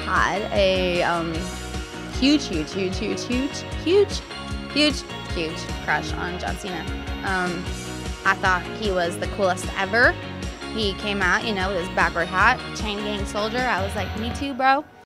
had a huge crush on John Cena. I thought he was the coolest ever. He came out, you know, with his backward hat, chain gang soldier. I was like, me too, bro.